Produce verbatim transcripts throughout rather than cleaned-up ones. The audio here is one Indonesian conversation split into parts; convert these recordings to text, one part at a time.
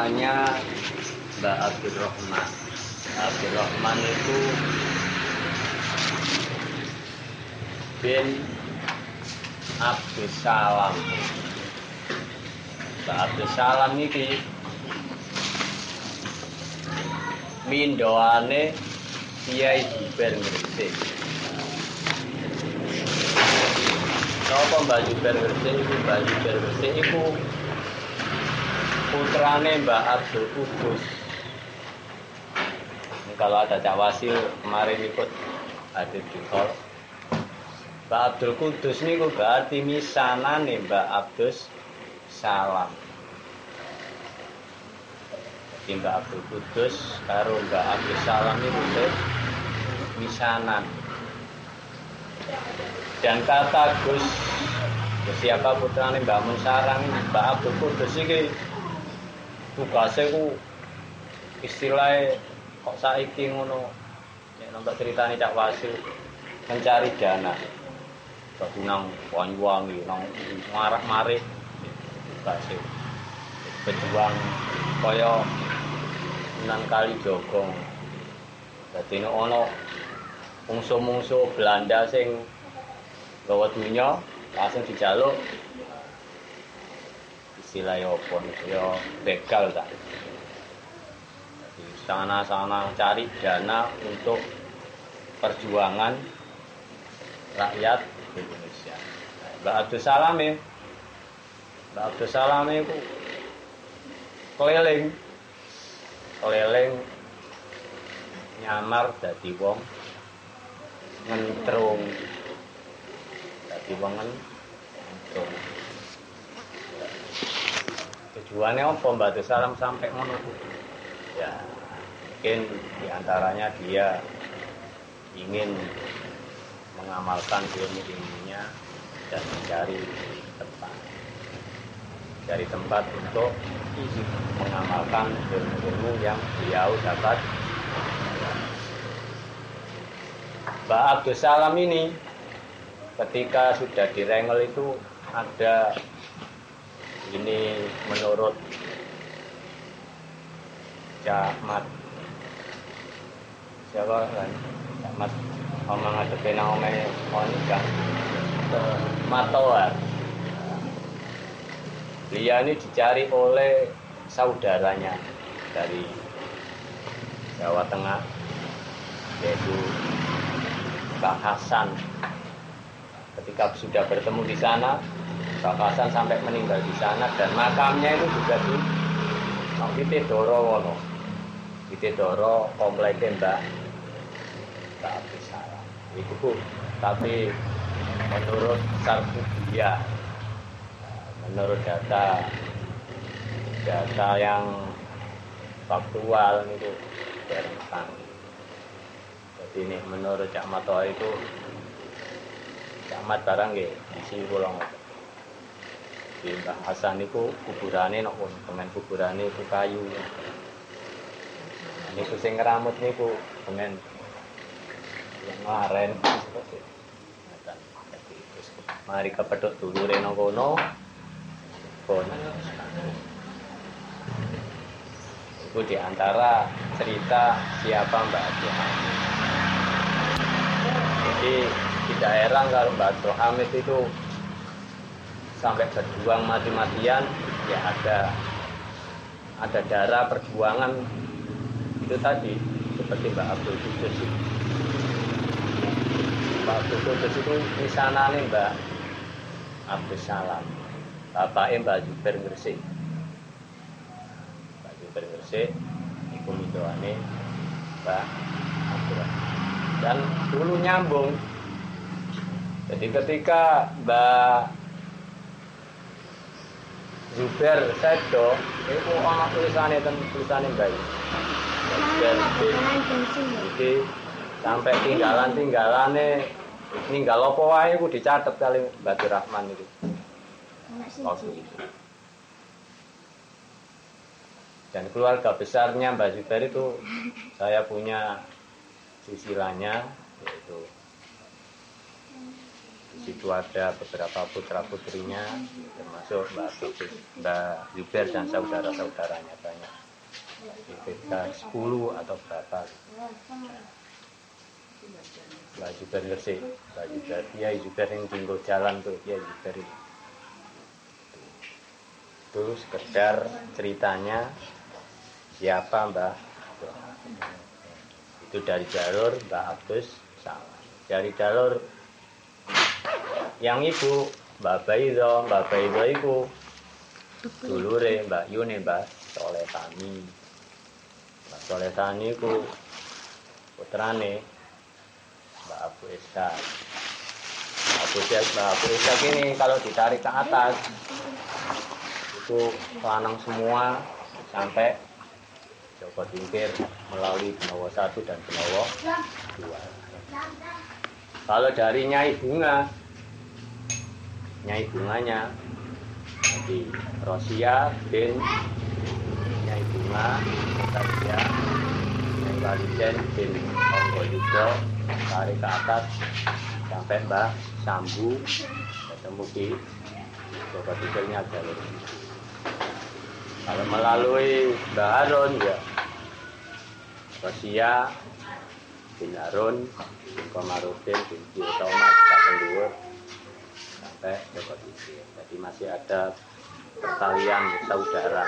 namanya Mbak Abdurrahman. Abdurrahman itu bin Abdussalam. Mbak Abdussalam ini mindoane Kiai Jubair Gresik. Napa Mbak Jubair Gresik iku? Mbak Jubair Gresik iku putrane Mbak Abdul Kudus. Ini kalau ada Cak Wasil kemarin ikut hadir di hall. Mbak Abdul Kudus niku berarti misanane Mbak Abdus Salam. Jadi Mbak Abdul Kudus karo Mbak Abdus Salam niku misanan. Dan kata Gus siapa putrane Mbak Munsarang, Mbak Abdul Kudus iki tugasnya ku istilahnya kok saiki ngono nek nonton ceritane Cak Wasil mencari dana. Dadi nang Banyuwangi, nang marah-marih tugasnya berjuang kaya nang kali jogong. Dadi nek ana mungsuh-mungsuh Belanda sing gawa dunya langsung dijaluk istilahnya apa ya begal tak. Jadi sana-sana cari dana untuk perjuangan rakyat Indonesia. Mbak Abdus Salam ya, Mbak Abdus Salam itu keliling, keliling nyamar dadi wong ngentrung, dadi wong ngentrung. Tujuannya apa Mbak Abdus Salam sampai ngono? Ya, mungkin diantaranya dia ingin mengamalkan ilmu-ilmunya dan mencari tempat, cari tempat untuk mengamalkan ilmu-ilmu yang beliau dapat. Mbak Abdus Salam ini ketika sudah direngel itu ada ini menurut Cak Mat siapa kan Cak Mat omong ngadepe nang omahe Monika Matoa. Beliau ini dicari oleh saudaranya dari Jawa Tengah yaitu Pak Hasan. Ketika sudah bertemu di sana, Pak Hasan sampai meninggal di sana dan makamnya itu juga di Witedoro wono. Witedoro kompleknya Mbak Mbak Abdus Salam. Itu Bu, tapi menurut Sarkudia, menurut data data yang faktual itu tentang. Jadi ini menurut Cak Mato itu Cak Mat barang nggih isi kula ngoten. Di Mbah Hasan niku kuburane nek pengen kuburane iku kayu. Niku sing ngramut niku pengen yang laren seperti mari kepethuk dulure nang kono. Kono. Itu diantara cerita siapa Mbak Abdul Hamid. Jadi tidak heran kalau Mbak Abdul Hamid itu sampai berjuang mati-matian, ya ada ada darah perjuangan itu tadi seperti Mbak Abdul Kudus. Mbak Abdul Kudus itu misanane Mbak Abdus Salam, bapaknya Mbak Jubair Gresik. Mbak Jubair Gresik iku mindoane Mbak Abdul. Dan dulu nyambung. Jadi ketika Mbak Jubair sedo, itu ana tulisane ten tulisane Mbak. Jadi sampai tinggalan-tinggalane ninggal apa wae iku dicatet kali Mbak Rahman itu. Waktu itu. Dan keluarga besarnya Mbak Jubair itu saya punya silsilahnya yaitu Di situ ada beberapa putra putrinya, termasuk Mbak Mbak Zubair dan saudara-saudaranya banyak. Sekitar sepuluh atau berapa. Mbak Zubair ngerti, Mbak Zubair, ya Zubair yang tinggal jalan tuh, ya Zubair itu. Itu sekedar ceritanya siapa Mbah Abdullah. Itu dari jalur Mbah Abdus Salam. Dari jalur yang ibu Mbak Baido, Mbak Baido itu dulure Mbak Yune Mbak Solehani. Mbak Solehani itu putrane Mbak Abu Ishaq. Abu Ishaq, Mbak Abu Ishaq ini kalau ditarik ke atas itu lanang semua sampai Joko Tingkir melalui Benowo satu dan Benowo dua. Kalau dari Nyai Bunga, Nyai Bunganya, jadi Rosia bin Nyai Bunga, Rosia, Nyai Waliden bin Onggoyudo, tarik ke atas sampai Mbah Sambu, ketemu di Joko Tingkirnya jalur. Kalau melalui Mbah Harun ya Rosia bin Harun bin Komarudin bin Thomas Kapendur sampai Joko Tingkir. Jadi masih ada pertalian saudara.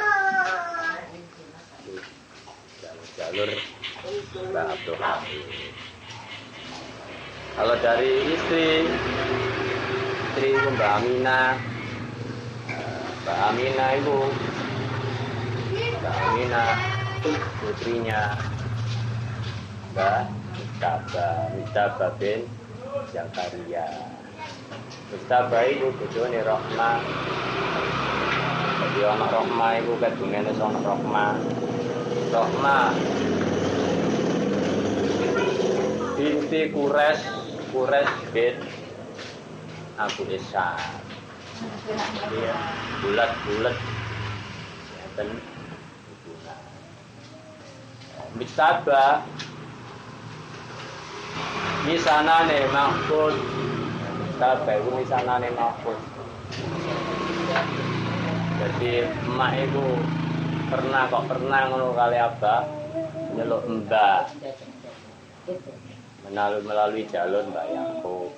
Jalur-jalur Mbah Abdullah. Kalau dari istri istri Mbak Aminah, Mbak Aminah itu Mbak Aminah putrinya Mbak Mustaba, Mustaba bin Zakaria. Mustaba itu bojone Rohma. Jadi anak Rohma itu kadungene sono Rohma. Rohma binti Kures, Kures bin Abu Ishaq. Iya, bulat-bulat. Dan Mustaba misanane Mahfud. Mustaba itu misanane Mahfud. Jadi emak itu pernah kok pernah ngono kali abah nyeluk mbak melalui melalui jalur Mbak Yakub.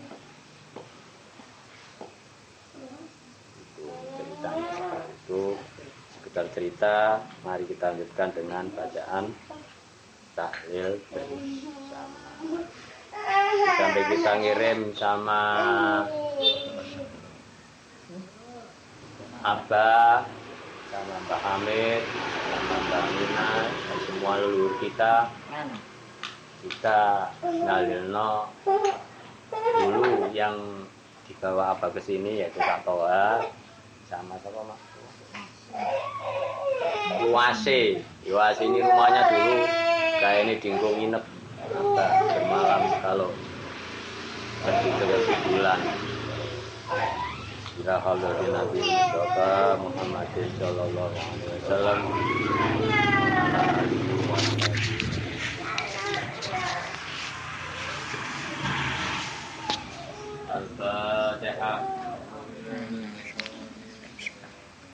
Itu ceritanya seperti itu. Sekedar cerita, mari kita lanjutkan dengan bacaan tahlil bersama. Sampai kita ngirim sama Abah, sama Mbak Hamid, sama Mbak Mina, dan semua leluhur kita. Kita ngalilno dulu yang dibawa Abah ke sini yaitu Kak Toha sama siapa Mak? Iwase. Iwase ini rumahnya dulu kayak ini dinggo nginep Abah bermalam kalau pergi ke bulan. Ila hadratin Nabi Mustafa Muhammadin sallallahu alaihi wasallam.